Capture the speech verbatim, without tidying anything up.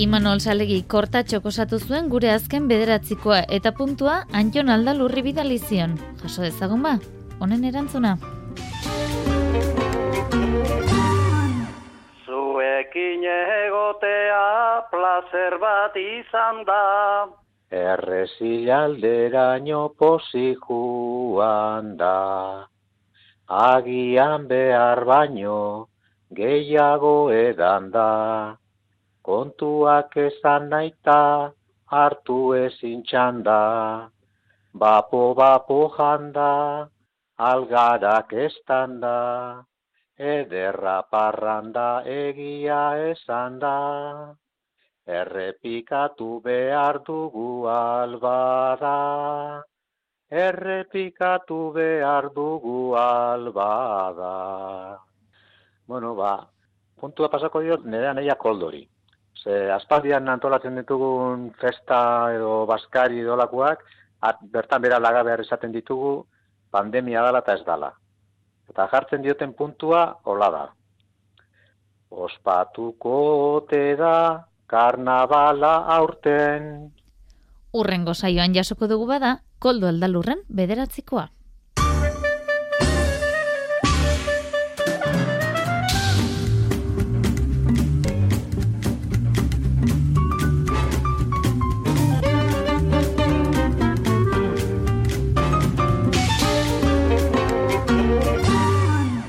Imanol Salegi kortatxok osatu zuen gure azken bederatzikoa eta puntua Anjon Aldalurri bidali zion. Jaso dezagun ba, honen erantzuna. Zuekin egotea placer bat izan da. Errezilalderaino pozik joan da. Agian behar baino gehiago edan da. Kontuak esan naita hartu ezin txanda. Bapo-bapo janda, algarak estanda. Ederra parranda egia esan da. Errepikatu behar dugu albada. Errepikatu behar dugu albada. Bueno, ba, puntua pasako diot nire anaia Koldori. Ze aspaldian antolatzen ditugun festa edo baskari idolakoak, bertan bera laga behar izaten ditugu, pandemia dala eta ez dala. Eta jartzen dioten puntua, hola da. Ospatuko ote da, karnabala aurten. Urrengo saioan jasoko dugu bada, Koldo Aldalurren bederatzikoa.